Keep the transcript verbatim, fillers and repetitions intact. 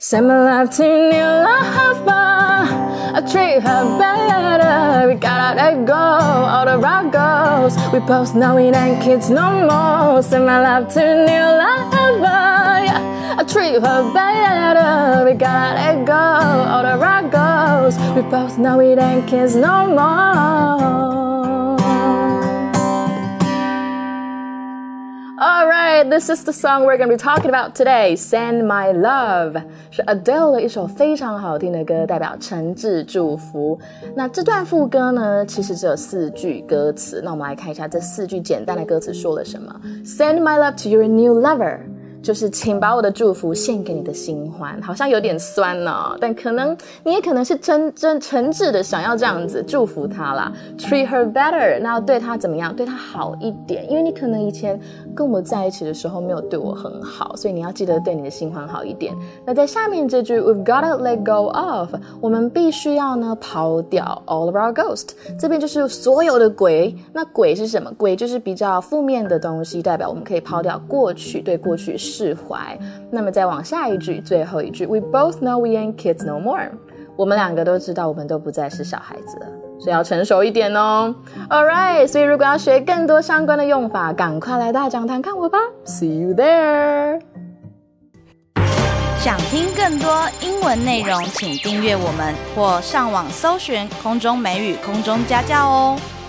Send my love to new lover, I treat her better. We gotta let go all the rock goes. We both know it ain't kids no more. Send my love to new lover, yeah, I treat her better. We gotta let go all the rock goes. We both know it ain't kids no more.Alright, this is the song we're going to be talking about today. Send my love 是 Adele 的一首非常好听的歌，代表誠摯祝福。那這段副歌呢，其實只有四句歌詞。那我們來看一下這四句簡單的歌詞說了什麼。Send my love to your new lover， 就是請把我的祝福獻給你的新歡，好像有點酸哦，但可能你也可能是真真誠摯的想要這樣子祝福他啦。Treat her better， 那要對他怎麼樣？對他好一點，因為你可能以前跟我在一起的時候沒有對我很好，所以你要記得對你的新歡好一點。那在下面這句 We've gotta let go of， 我們必須要呢拋掉 all of our ghost， 這邊就是所有的鬼。那鬼是什麼？鬼就是比較負面的東西，代表我們可以拋掉過去，對過去釋懷。那麼再往下一句，最後一句 We both know we ain't kids no more， 我們兩個都知道我們都不再是小孩子了，所以要成熟一點哦。 Alright， 所以如果要學更多相關的用法，趕快來大講堂看我吧。 See you there。 想聽更多英文內容，請訂閱我們或上網搜尋空中美語空中家教哦。